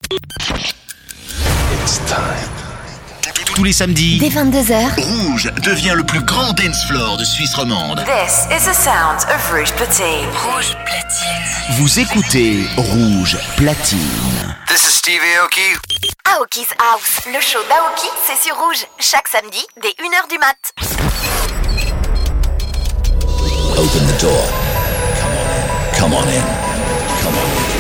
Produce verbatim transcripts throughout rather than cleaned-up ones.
It's time. Tous les samedis, dès vingt-deux heures, Rouge devient le plus grand dance floor de Suisse romande. This is the sound of Rouge Platine. Rouge Platine. vous écoutez Rouge Platine. This is Steve Aoki. Aoki's House, le show d'Aoki, c'est sur Rouge, chaque samedi dès une heure du mat. Open the door. Come on in. Come on in. Come on in.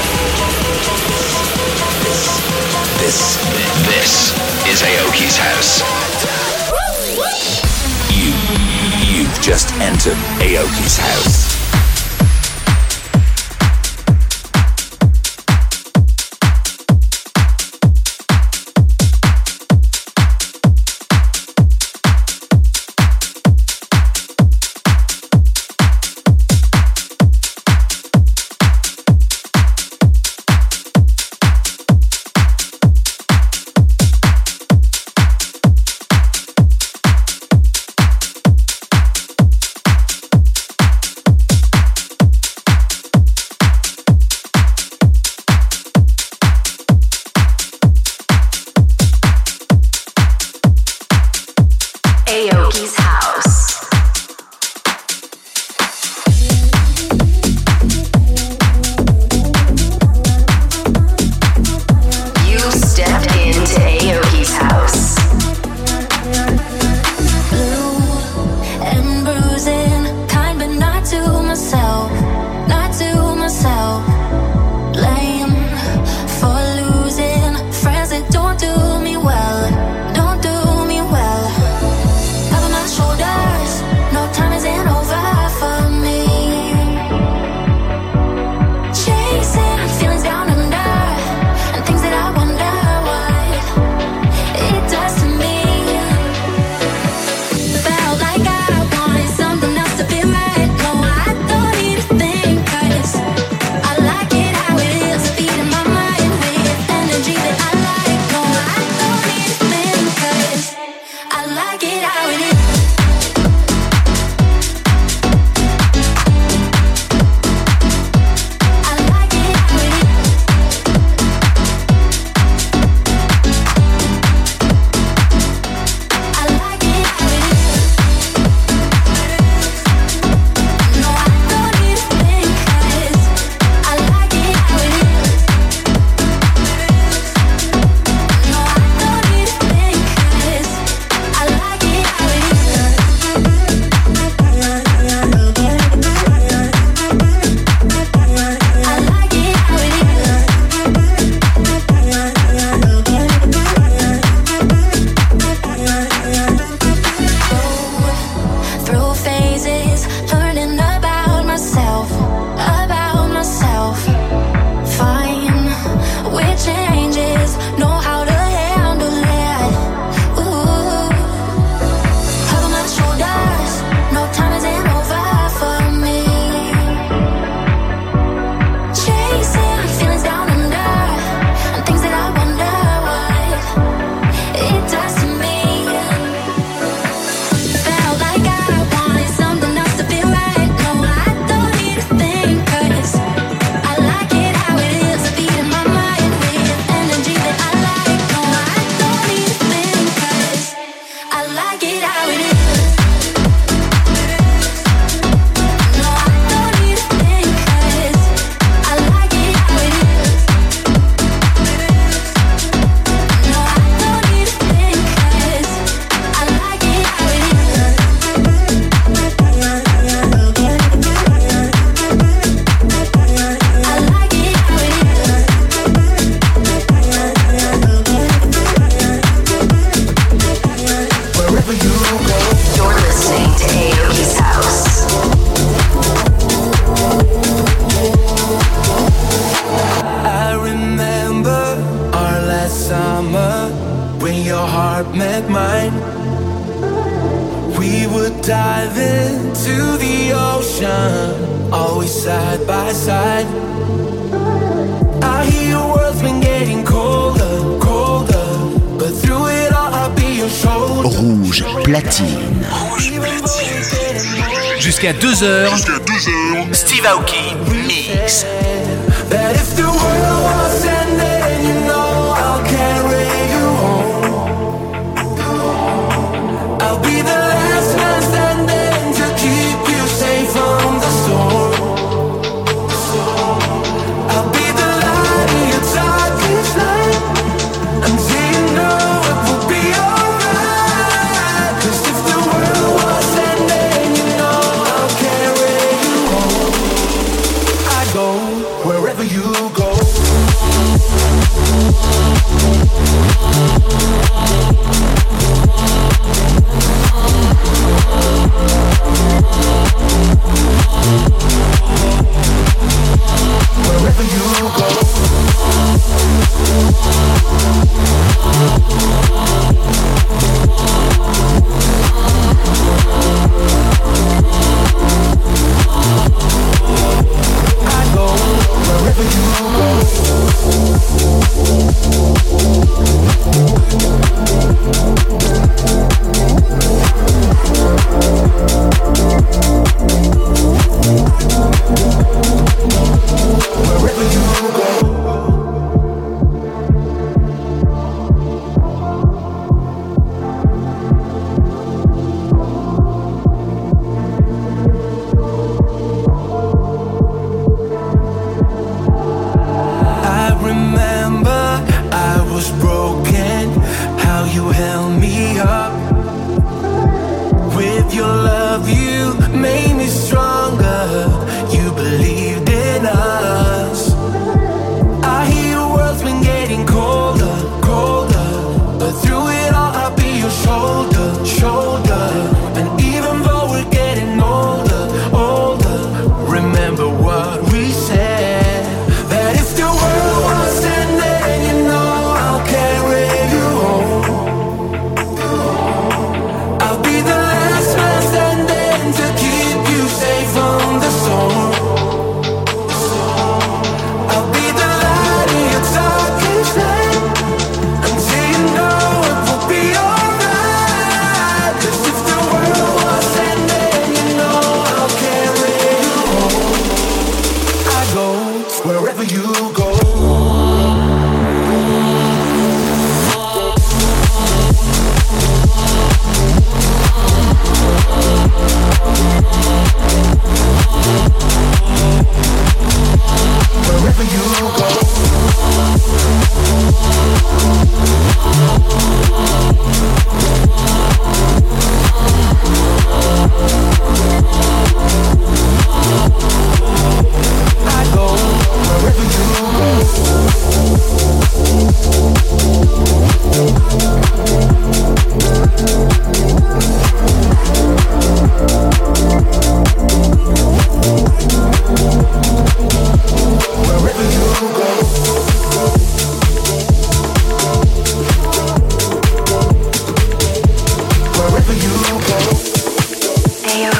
This, this, this is Aoki's house. You, you've just entered Aoki's house. Aoki's house. You stepped into Aoki's house. Blue and bruising, kind but not to myself, not to myself. Blame for losing friends that don't do me well, don't do me well. Cover my shoulders, no time isn't over for me. Chasing feelings down under, and things that I wonder what it does to me. Felt like I wanted something else to feel right. No, I don't need to think, 'cause I like it how it is, feeding my mind with energy that I like. No, I don't need to think, 'cause I like it how it is. I like it how it is. I like it how it is. No, I don't need to think, 'cause I like it how it is. No, I don't need to think, 'cause I like it how it is. I like it how it is. Through phases, learning about myself, about myself. Fine with changes, know how to handle it. Ooh, cover my shoulders, no time isn't over for me. Chasing feelings down under, and things that I wonder what it does to me. Felt like I wanted something else to feel right. No, I don't need to think, 'cause I like it how it is, feeding my mind with energy that I like. No, I don't need to think, 'cause I like it how it is. No, I don't need to think, 'cause I like it how it is. No, I don't need to think, 'cause I like it how it is. I like it how it is. Wherever you go, you're listening to Aoki's house. I remember our last summer when your heart met mine. We would dive into the ocean, always side by side. I hear your world's been getting colder, colder, but through it all I'll be your shoulder. Rouge Platine. Jusqu'à deux heures, Steve Aoki Mix. That if the world was ending, you know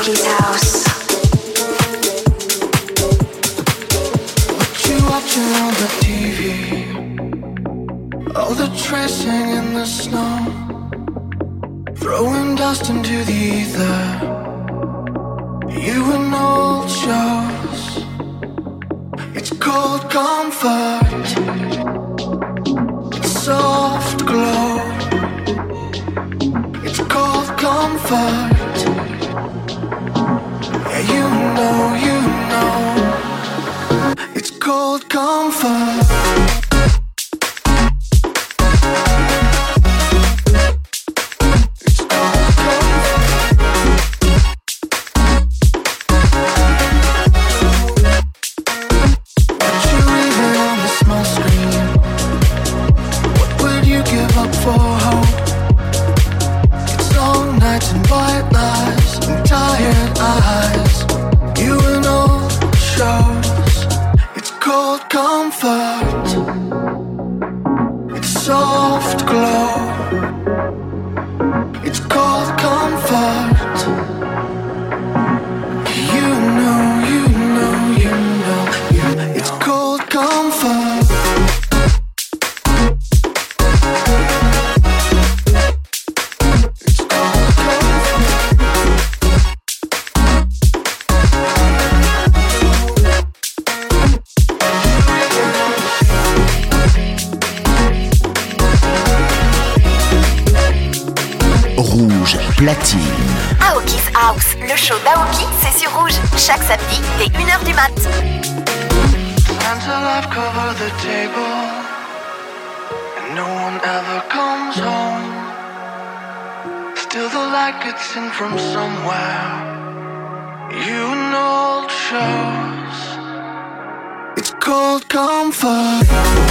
Aoki's house. What you watching on the T V? All the tracing in the snow, throwing dust into the ether. You and old shows. It's called comfort. It's soft glow. It's called comfort. Yeah, you know, you know. It's called comfort. Platine. Aoki's House, le show d'Aoki, c'est sur Rouge, chaque samedi dès une heure du mat. Until I've covered the table and no one ever comes home. Still the light gets in from somewhere. You and old shows. It's called comfort.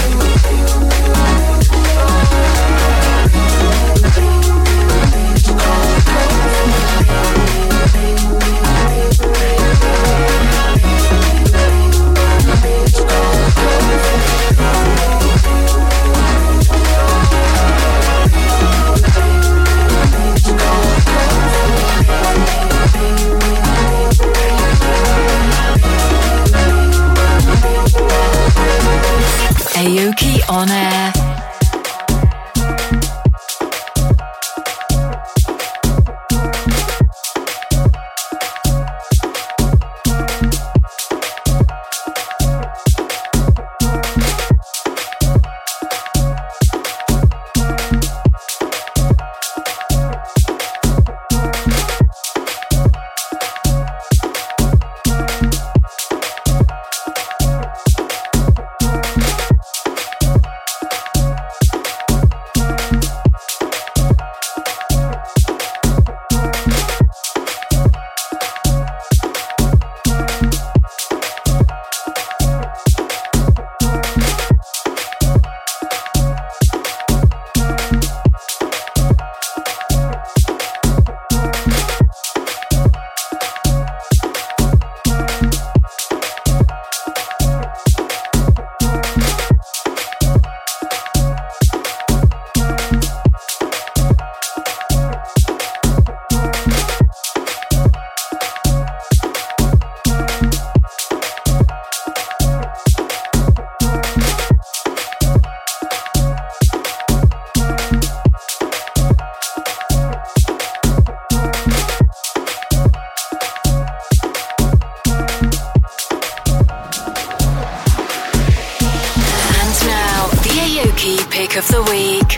Aoki on air. Pick of the week.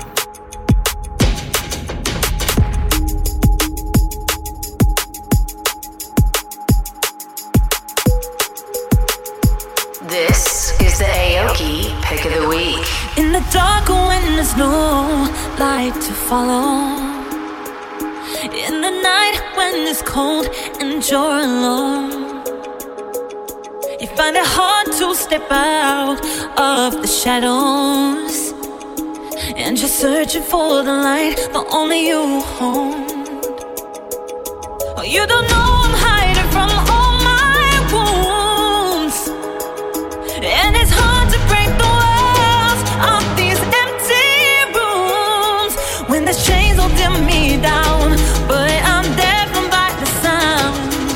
This is the Aoki Pick of the Week. In the dark when there's no light to follow, in the night when it's cold and you're alone, you find it hard to step out of the shadows, and you're searching for the light, but only you hold. Oh, you don't know I'm hiding from all my wounds, and it's hard to break the walls of these empty rooms when the chains holding me down, but I'm deafened by the sound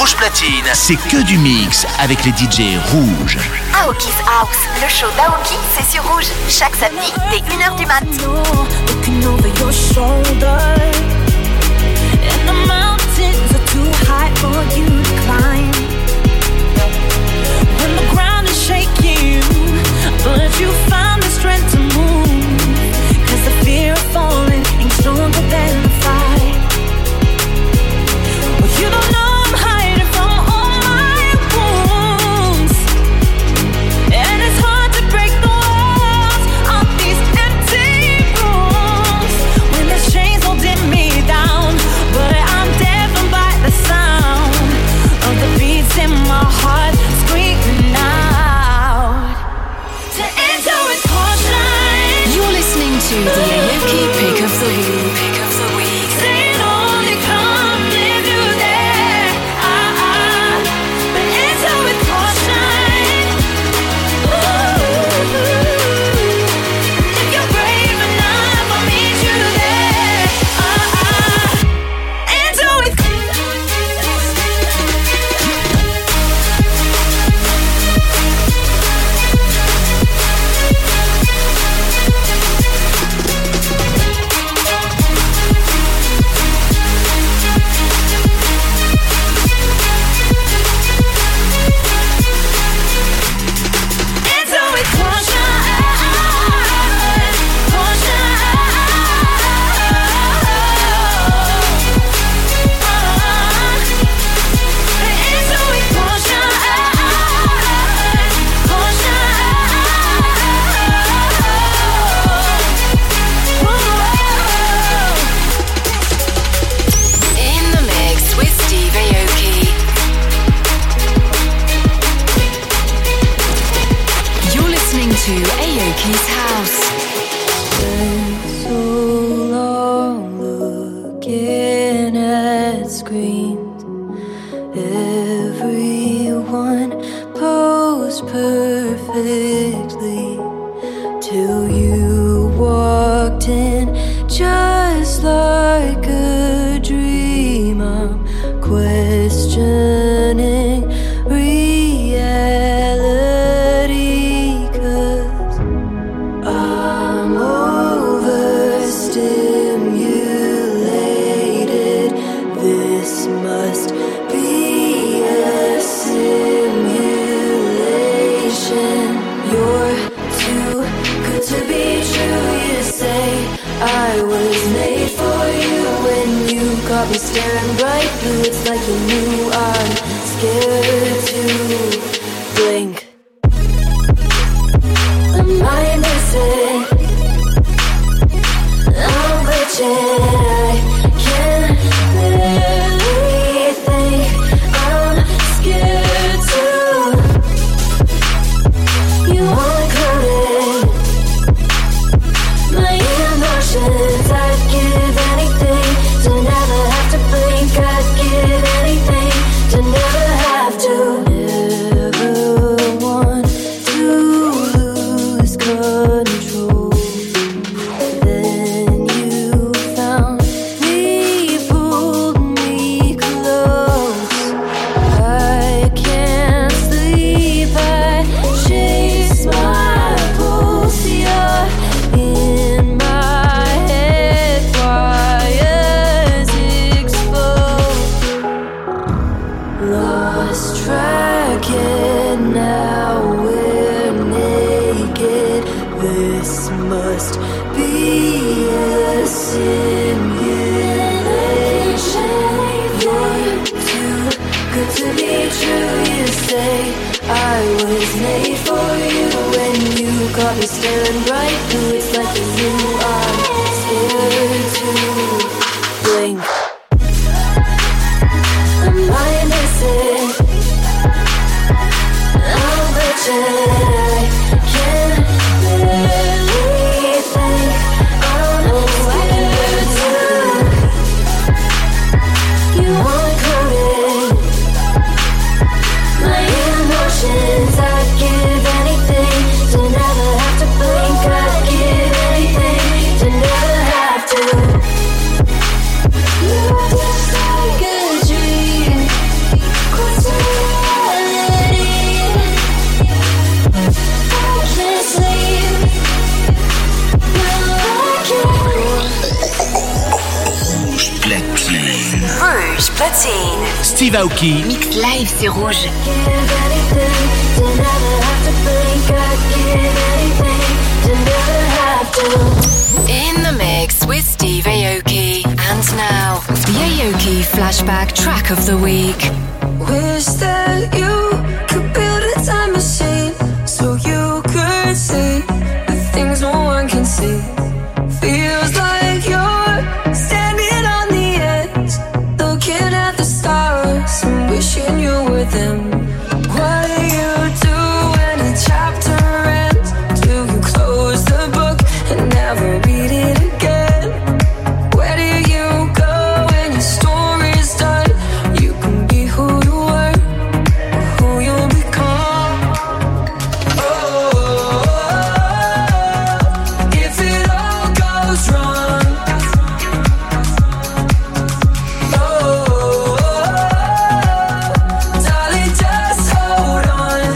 Rouge Platine, c'est que du mix avec les D J rouges. Aoki's House, le show d'Aoki, c'est sur Rouge. Chaque samedi, dès une heure du mat. Looking over your shoulder, and the mountains are too high for you to climb. When the ground is shaking, but you found the strength to move. 'Cause the fear of falling ain't stronger than the fight. Well, you don't know I'm hiding from all my wounds, and it's hard to break the walls of these empty rooms when there's chains holding me down. But I'm deafened by the sound of the beats in my heart screaming out to enter with caution. You're listening to the Aoki Pick of the Week. Pick of the Week. Saying only come if you're there. Ah, ah. But enter with caution. Ooh. If you're brave enough, I'll meet you there. Ah, ah. Enter with Enter with caution, caution. Enter with caution, caution. In the mix with Steve Aoki. You're listening to Aoki's House. So long looking at screens, everyone posed perfectly till you walked in, just like a dream. I'm questioning reality, 'cause I'm overstimulated. This must be a simulation. You're too good to be true, you say. I was made for you when you got me staring right through. It's like you knew I'm scared to blink. Am I missing? I'm glitching. I can't barely think. I'm scared to. You want coding my emotions. I'd give anything to never have to blink. I'd give anything to never have to. Never want to lose control. Then you found me, pulled me close. I can't sleep. I chase my pulse. You're in my head, wires exposed. Lost track and now we're naked. This must be a simulation. You're too good to be true, you say. I was made for you when you got me staring right through. It's like you knew I'm scared to blink. Am I missing? I'm glitching. I can't barely think. I'm scared to. You want coding my emotions. I'd give anything to never have to blink. I'd give anything Steve Aoki. Mix live sur Rouge. In the mix with Steve Aoki. And now, the Aoki Flashback Track of the Week. Wish that you could build a time machine so you could see the things no one can see. Feels like you're standing on the edge, looking at the stars and wishing you were them. What do you do when a chapter ends? Do you close the book and never read it again? Where do you go when your story's done? You can be who you were, who you'll become. Oh, if it all goes wrong. Oh, darling, just hold on.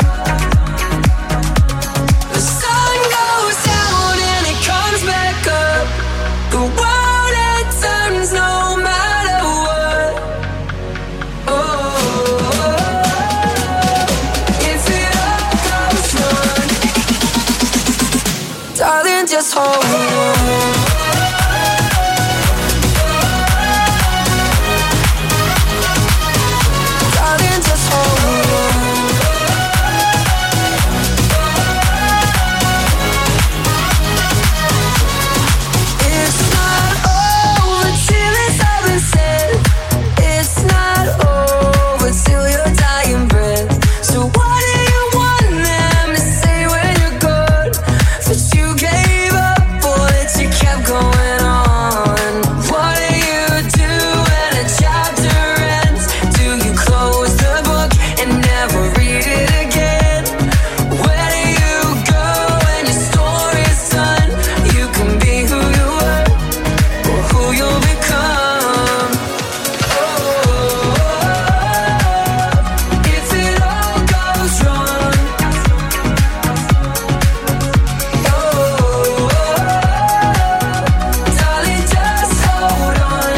The sun goes down and it comes back up. The world it turns no matter what. Oh, if it all goes wrong, darling, just hold on. Darling, just hold on. It's not over till it's all been said. It's not over till your dying breath. So what do you want them to say when you're gone? That you gave up or that you kept going on? What do you do when a chapter ends? Do you close the book and never read it again? Where do you go when your story's done? You can be who you were or who you'll become. Oh, if it all goes wrong. Oh, darling, just hold on.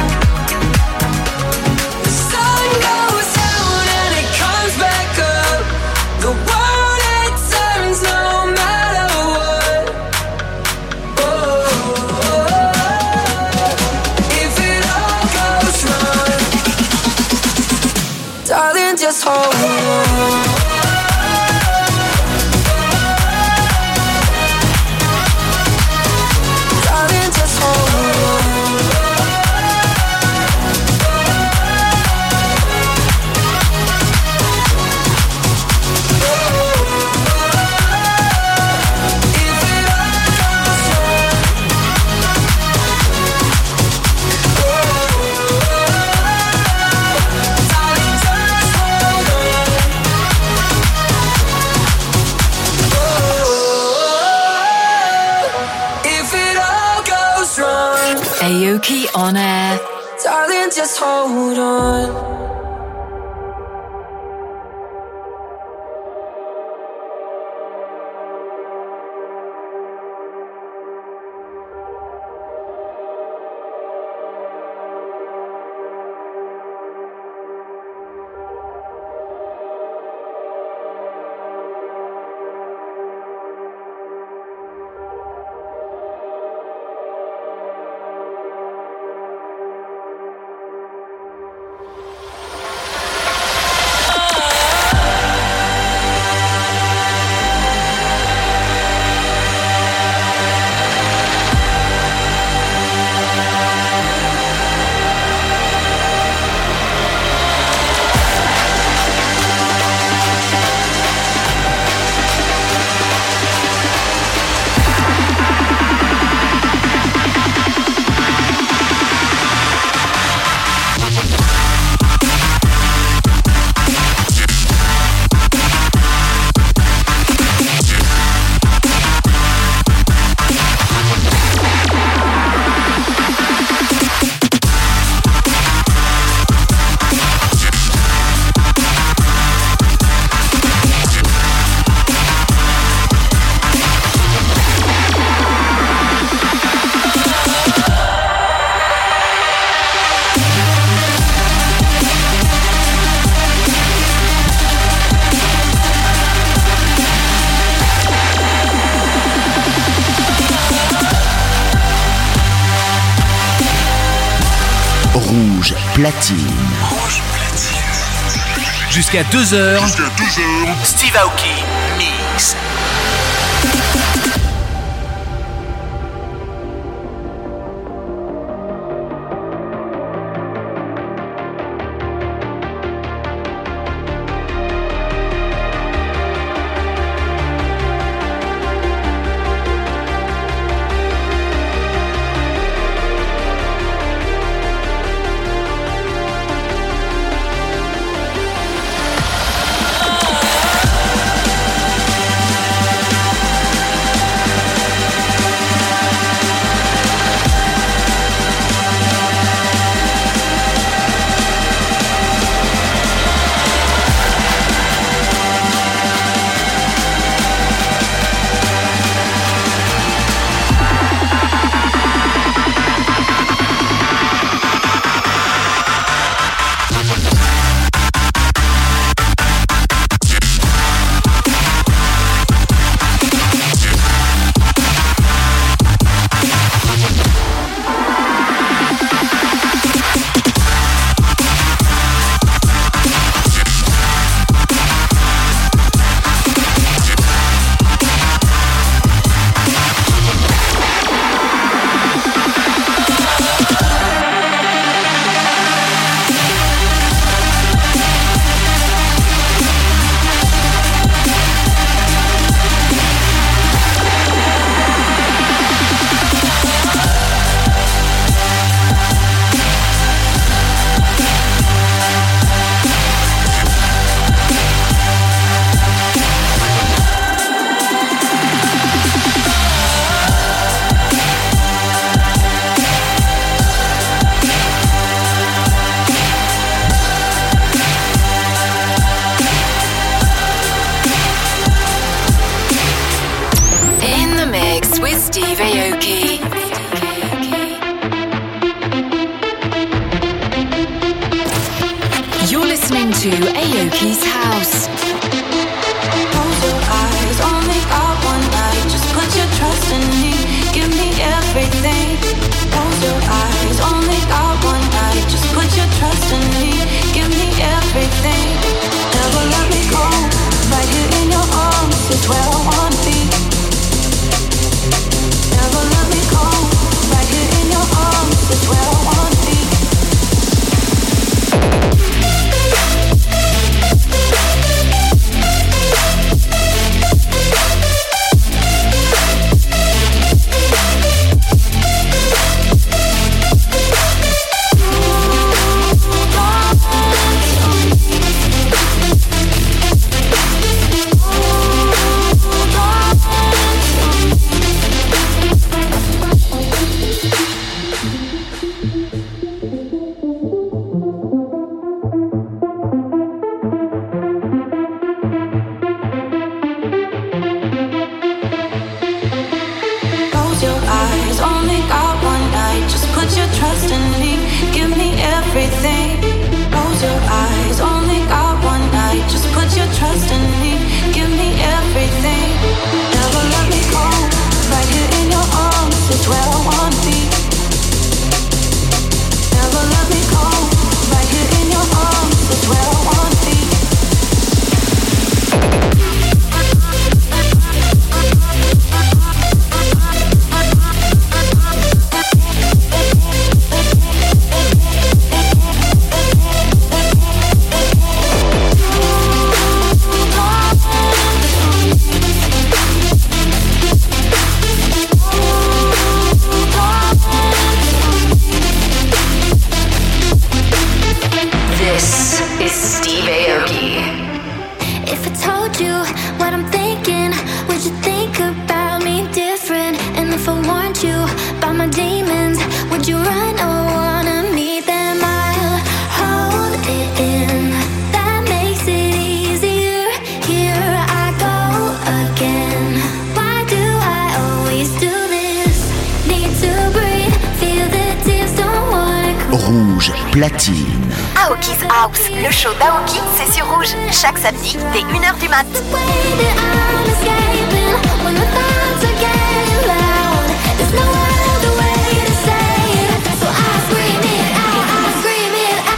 The sun goes down and it comes back up. The world it turns no matter what. Oh, if it all goes wrong, darling, just hold on. Darling, just hold on. If it all goes wrong, darling, just hold on. If it all goes wrong, Aoki on air. darling, just hold on. Platine. Rouge Platine. Jusqu'à deux heures. Jusqu'à deux heures. Steve Aoki Mix. to Aoki's house. Close your eyes, only got one night. Just put your trust in me, give me everything. Close your eyes, only got one night. Just put your trust in me, give me everything. Never let me go, right here in your arms is where I wanna be. Never let me go, right here in your arms is where I wanna be. Platine. Aoki's House, le show d'Aoki, c'est sur Rouge, chaque samedi dès une heure du mat. There's no other way to say it, so I scream it out, I scream it out.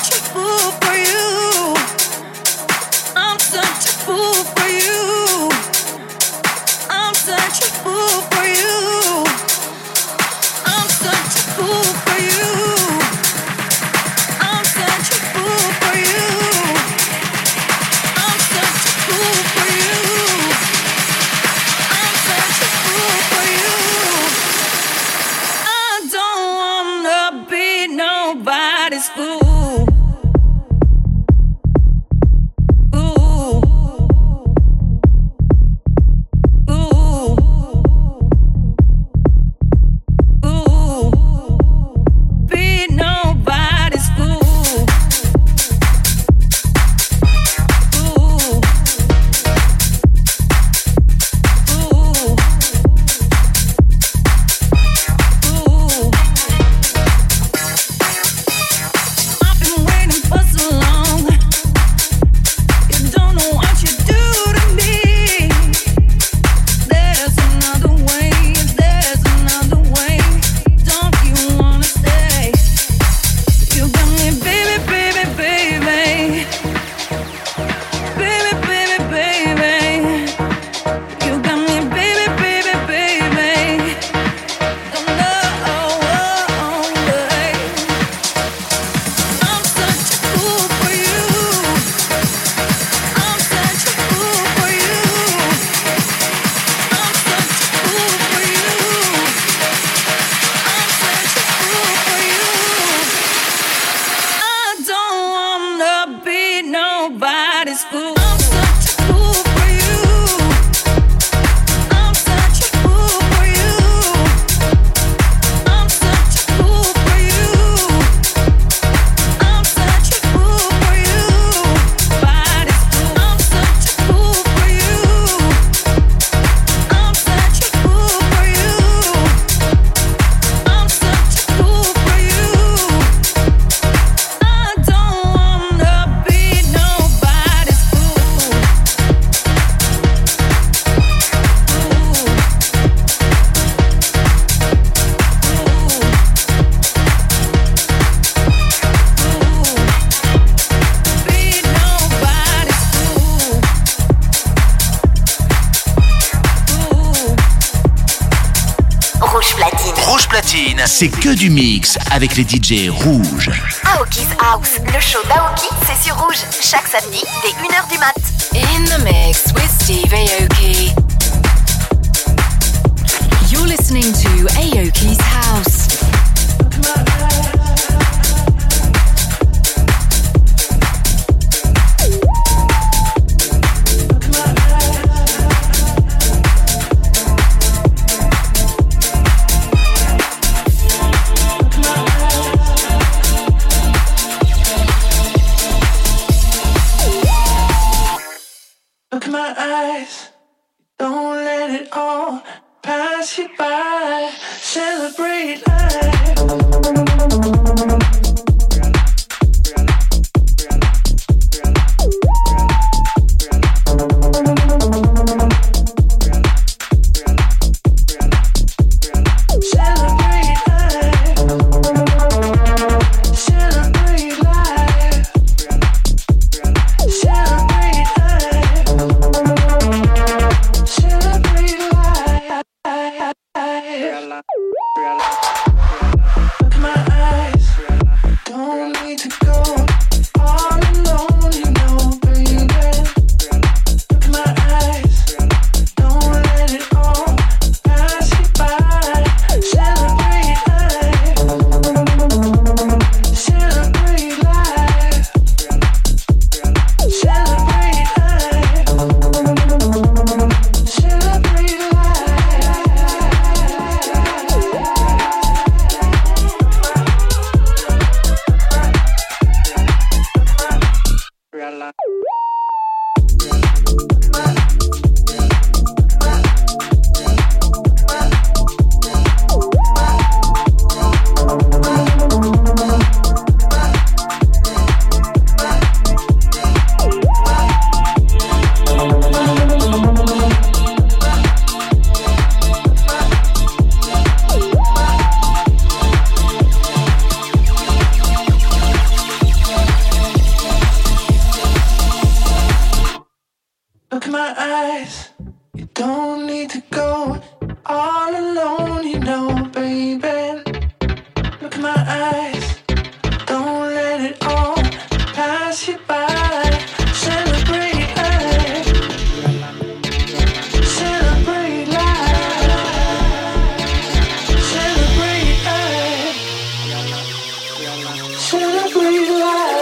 C'est que du mix avec les D J rouges. Aoki's House, le show d'Aoki, c'est sur Rouge, chaque samedi dès une heure du mat. In the mix with Steve Aoki. You're listening to Aoki's House. Look at my eyes, don't let it all pass you by. Celebrate life. Real life. eyes. You don't need to go all alone, you know, baby. Look at my eyes. Don't let it all pass you by. Celebrate life. Celebrate life. Celebrate life. Celebrate life.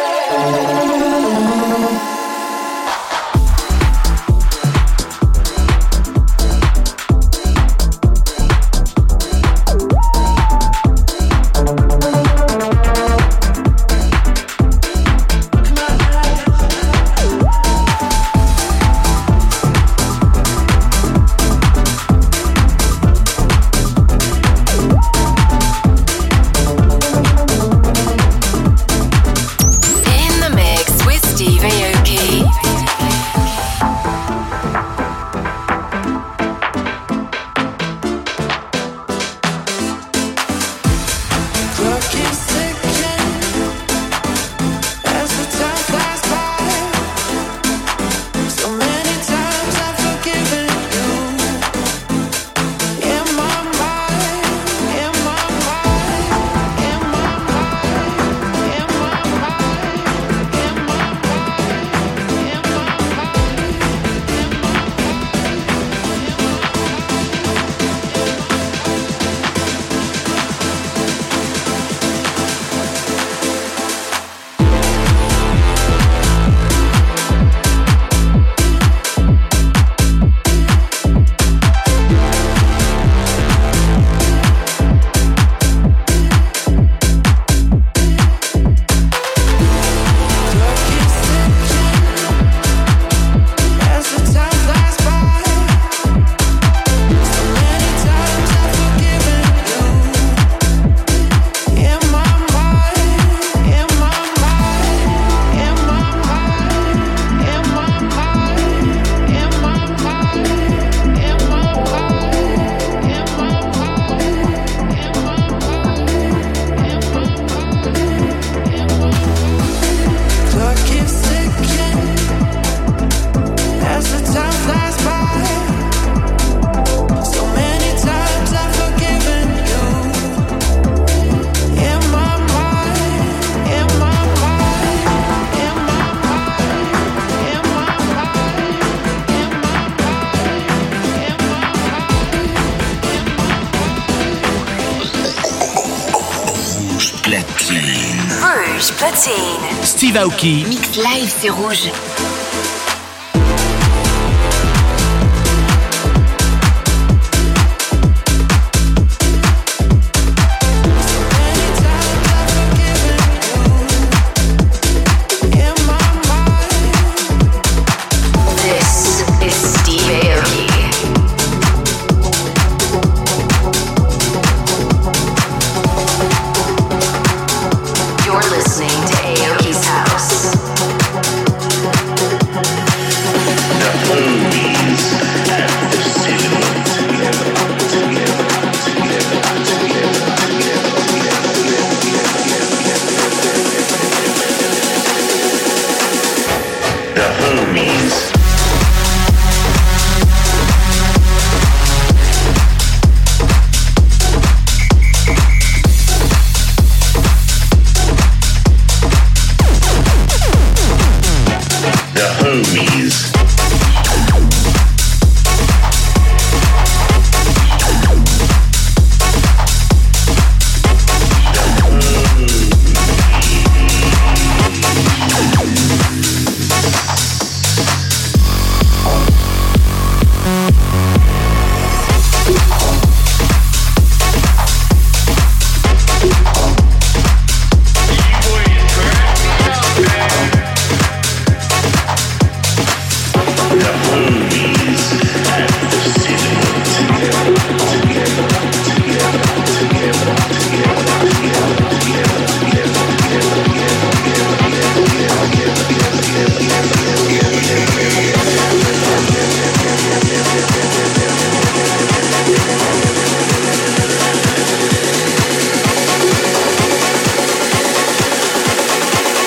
Rouge Platine. Steve Aoki. Mix live, c'est Rouge.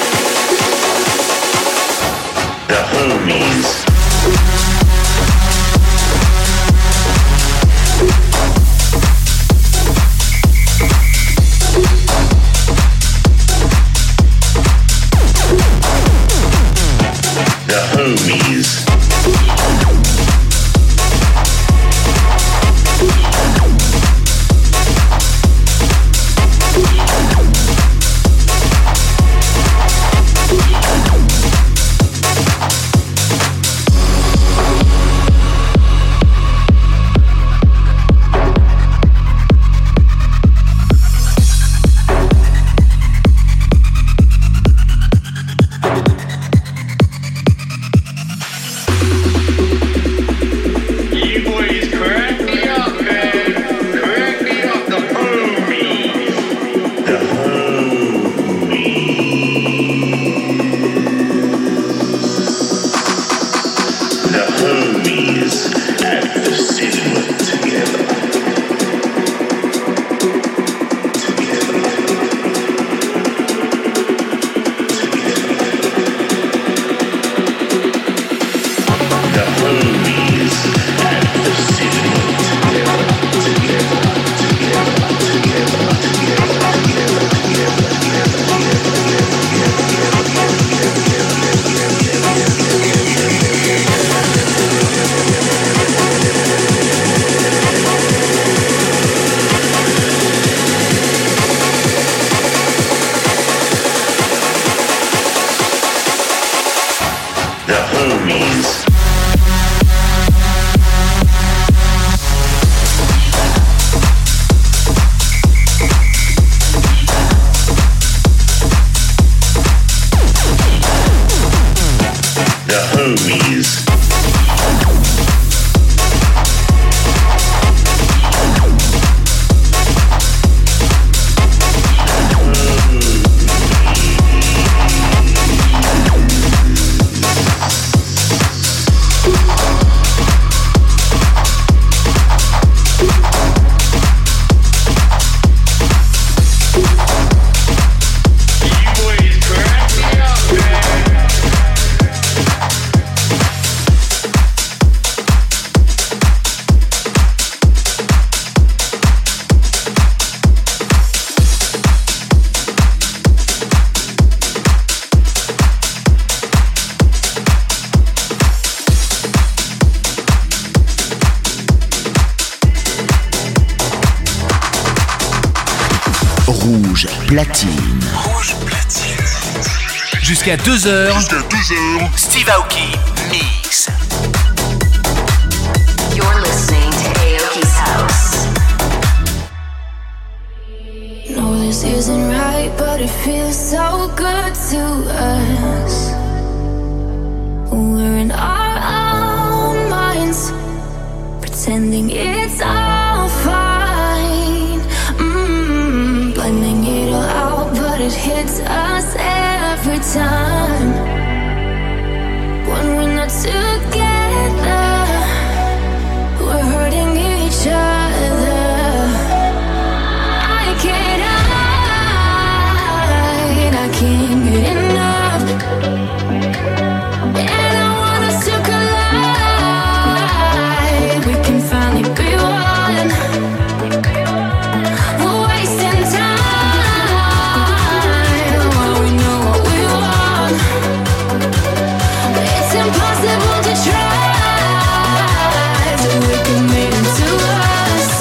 The homies. homies. The homies. Rouge platine. Rouge platine. Jusqu'à deux heures. Jusqu'à deux heures. Steve Aoki Mix. You're listening to Aoki's House. No, this isn't right, but it feels so good to us. We're in our own minds, pretending it's all fine. Mm, blending it all out, but it hits us every time. When we're not together, we're hurting each other. I can't hide, I can't get enough. And I want us to collide. We can finally be one. We're wasting time while we know what we want. It's impossible to try, so we can make it to us.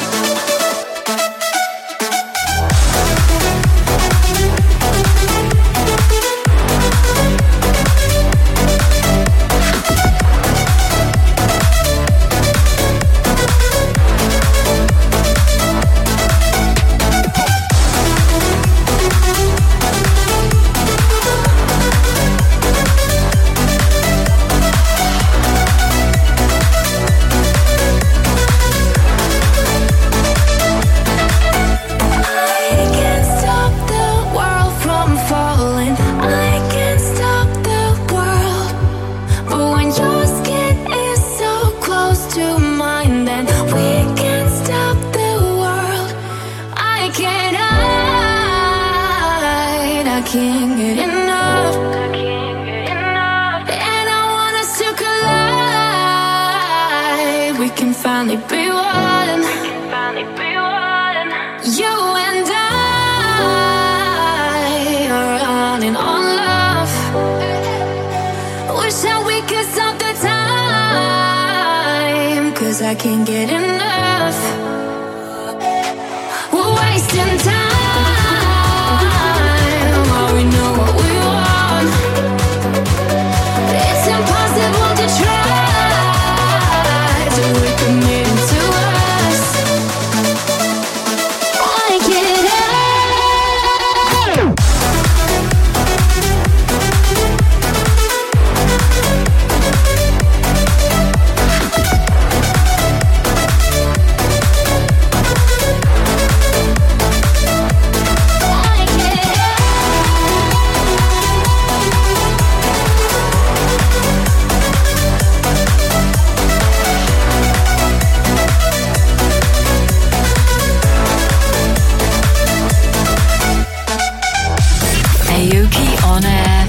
I can't stop the world from falling. I can't stop the world. But when your skin is so close to mine, then we can't stop the world. I can't hide, I can't get enough. And I want us to collide. We can finally be one. You and I are running on love. Wish that we could stop the time, 'cause I can't get enough. We're wasting time while we know what we want. It's impossible to try, so we can make it to us. I can't hide. Aoki on air.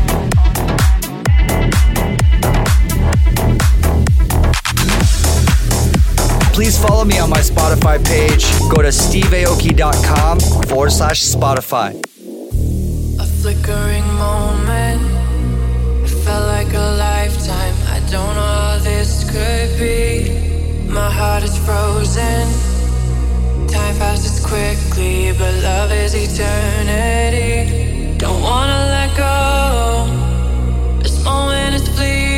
Please follow me on my Spotify page. Go to steve aoki dot com forward slash Spotify. A flickering moment, it felt like a lifetime. I don't know how this could be. My heart is frozen. Time passes quickly, but love is eternity. Don't wanna let go. This moment is fleeting.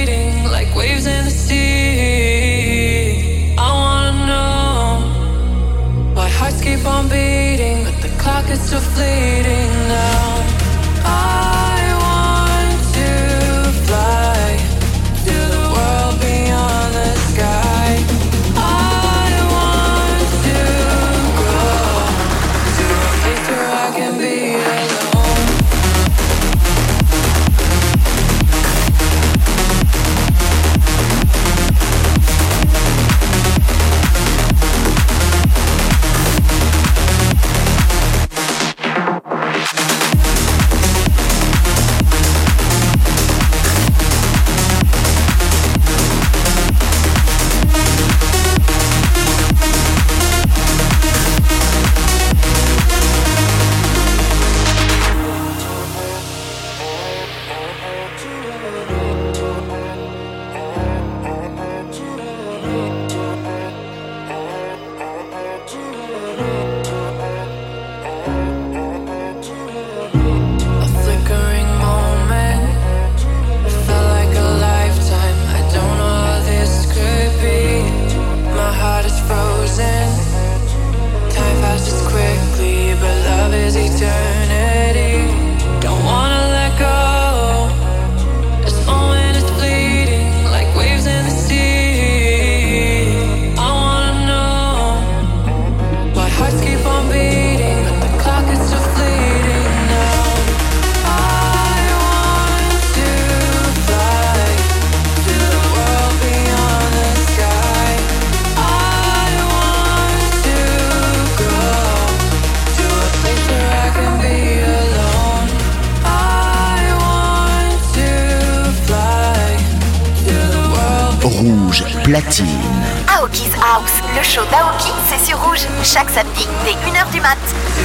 platine. Aoki's House, le show d'Aoki, c'est sur Rouge, chaque samedi dès une heure du mat.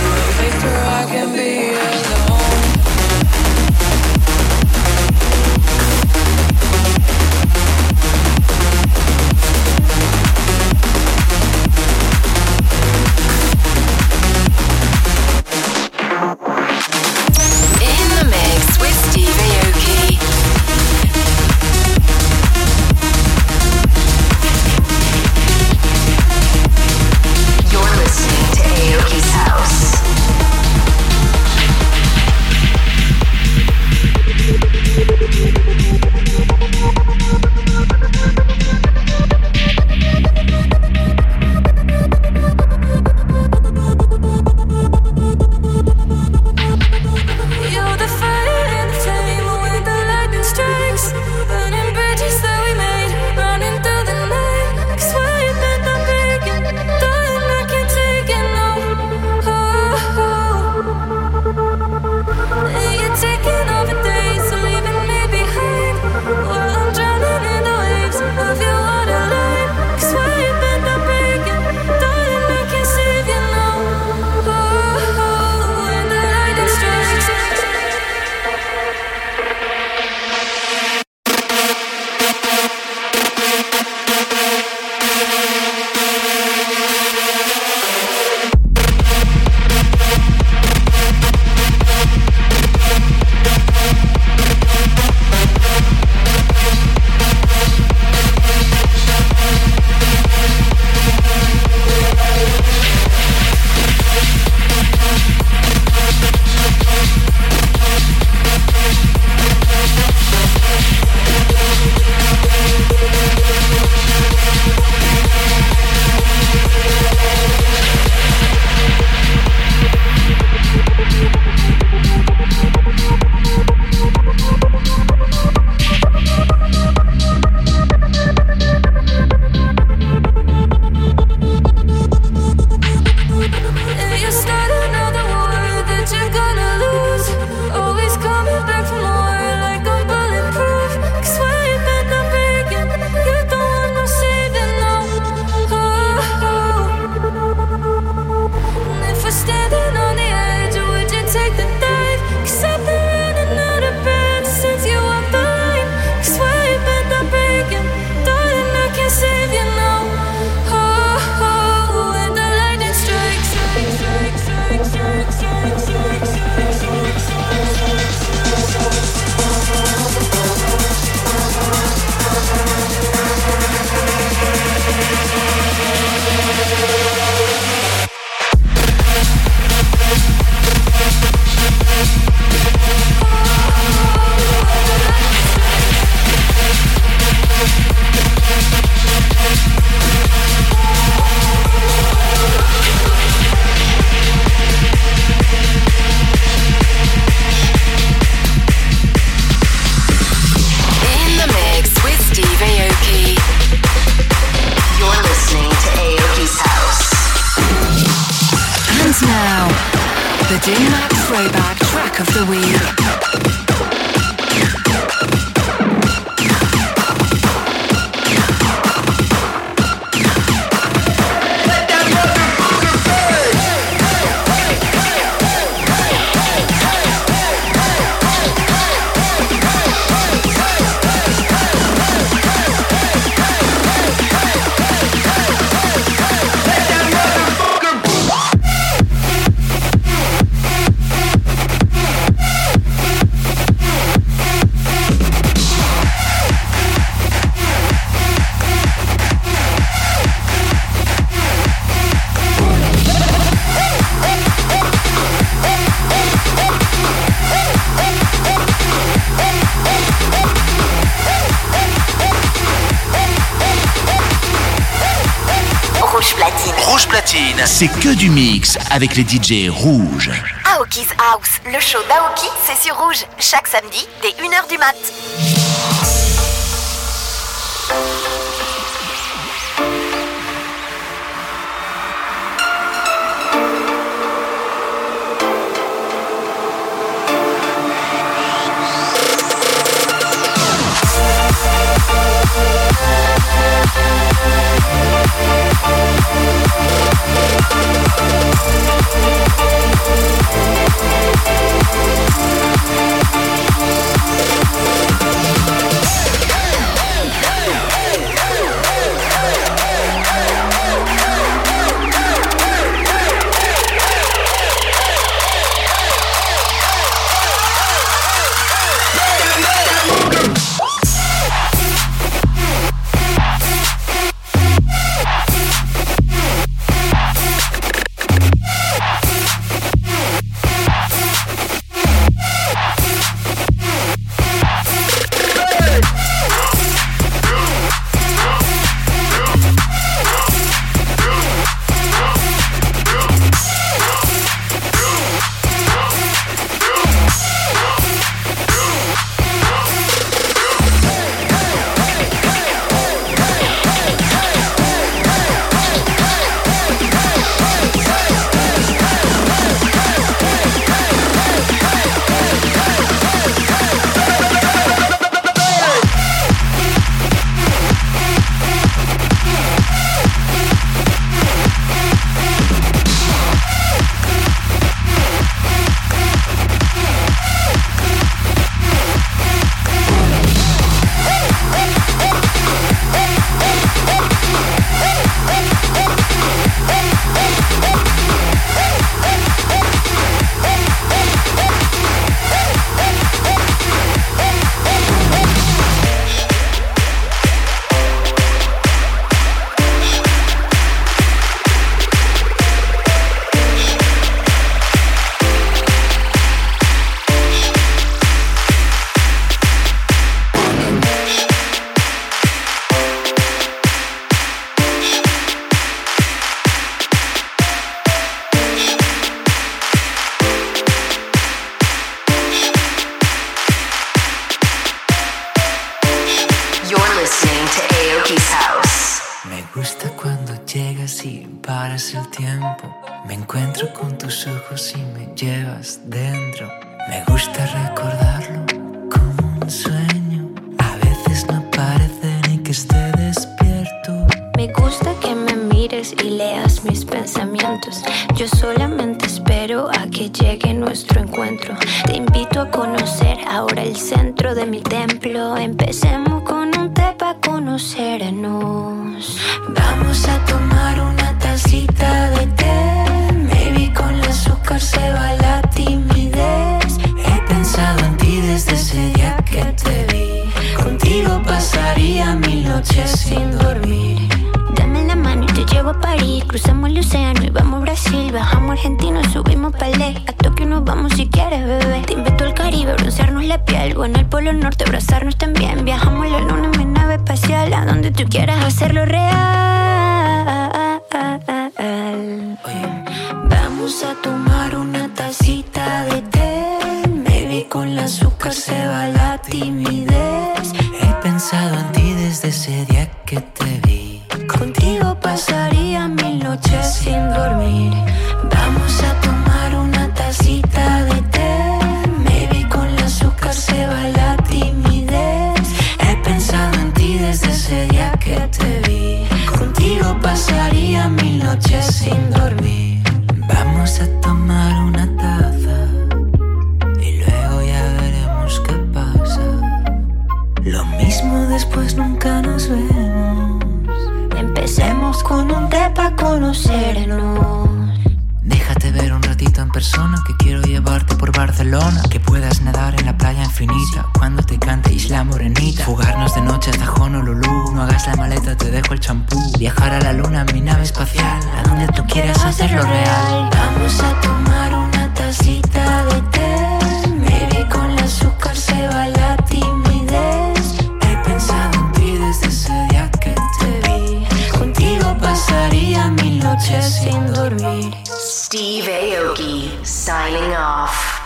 C'est que du mix avec les D J rouges. Aoki's House, le show d'Aoki, c'est sur Rouge, chaque samedi dès une heure du mat. We'll be right back. pasa el tiempo, me encuentro con tus ojos y me llevas dentro. Me gusta recordarlo como un sueño. A veces no parece ni que esté despierto. Me gusta que me mires y leas mis pensamientos. Yo solamente espero a que llegue nuestro encuentro. Te invito a conocer ahora el centro de mi templo. Empecemos con un té para conocernos. Vamos a tomar una tacita de té. Maybe con el azúcar se va la timidez. He pensado en ti desde ese día que te vi. Contigo pasaría mil noches sin dormir. Dame la mano y te llevo a París. Cruzamos el océano y vamos a Brasil. Bajamos a Argentina, subimos Palais. A Tokio nos vamos si quieres, bebé. Te invito al Caribe, broncearnos la piel. O en el Polo Norte, abrazarnos también. Viajamos a la luna en mi nave espacial. A donde tú quieras hacerlo real. Oye, vamos a tomar una tacita de té. Maybe con el azúcar se va la timidez. He pensado en ti desde ese día que te vi. Contigo pasaría mil noches sin dormir. Vamos a tomar una tacita de té. Maybe con el azúcar se va la timidez. He pensado en ti desde ese día que te vi. Contigo pasaría mil noches sin dormir. Vamos a tomar una taza y luego ya veremos qué pasa. Lo mismo después nunca nos vemos. Empecemos con un té pa' conocernos. Déjate ver un ratito en persona, que quiero llevarte por Barcelona. Que puedas nadar en la playa infinita cuando te cante Isla Morenita. Fugarnos de noche hasta Honolulu. No hagas la maleta, te dejo el champú. Viajar a la luna en mi nave espacial. A donde tú quieras hacerlo real. Vamos a tomar una tacita de té. Maybe con el azúcar se va la timidez. He pensado en ti desde ese día que te vi. Contigo pasaría mil noches sin dormir. Steve Aoki signing off.